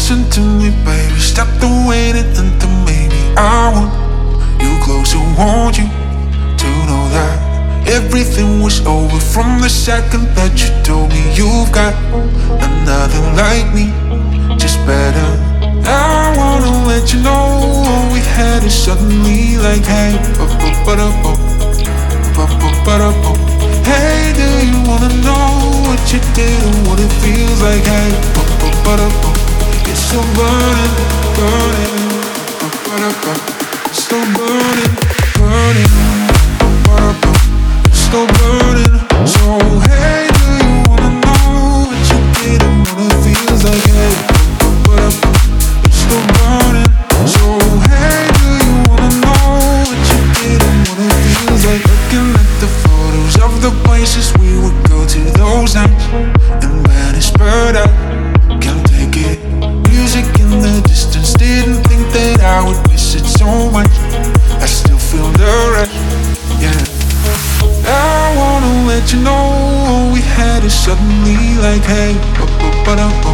Listen to me, baby, stop the waiting until maybe I want you closer, want you to know that everything was over from the second that you told me you've got another like me, just better. I wanna let you know we had it suddenly like hey, hey, do you wanna know what you did and what it feels like? Hey, it's so burning, burning, still burning, burning, still burning. So hey, do you wanna know what you did and what it feels like? Hey, it's still burning. So hey, do you wanna know what you did and what it feels like? Looking at the photos of the places we would go to those nights, and when it's spurred out, can't take it. Music in the distance, didn't think that I would miss it so much. I still feel the rush, yeah. I wanna let you know we had it suddenly like hey,